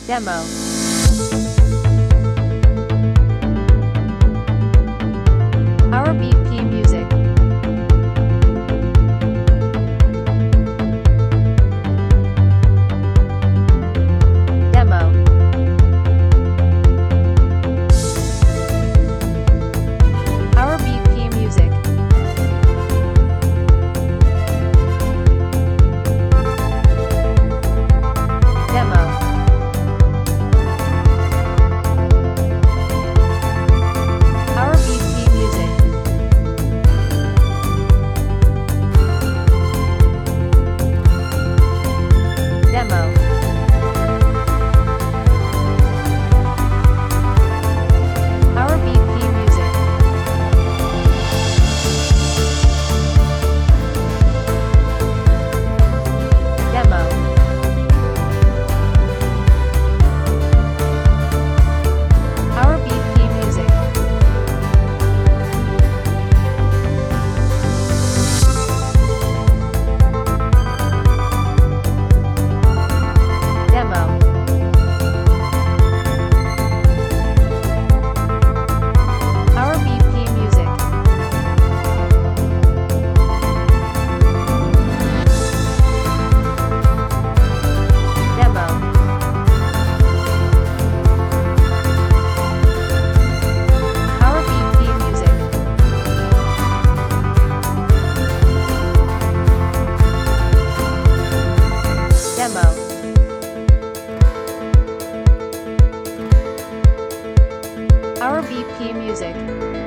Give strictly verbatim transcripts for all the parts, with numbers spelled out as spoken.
Demo. Our B P Music. Demo. Our B P Music. Demo. Our B P Music. Demo. Our B P Music. Demo. Our B P Music. Demo. Our B P Music. Demo. Our B P Music. Demo. Our B P Music.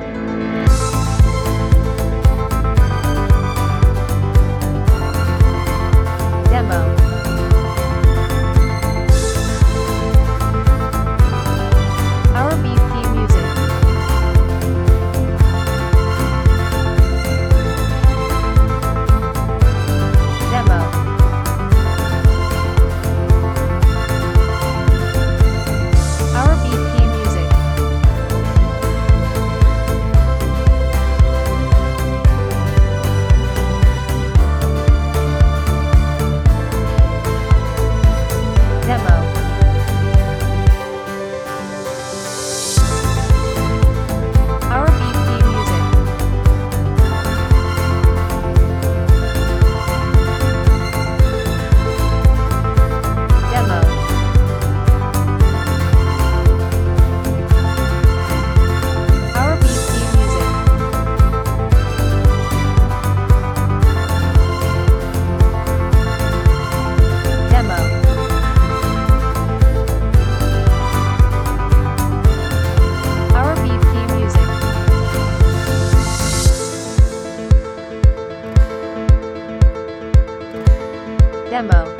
Demo. Our B P Music. Demo. Our B P Music. Demo. Our B P Music. Demo. Our B P Music. Demo. Our B P Music. Demo.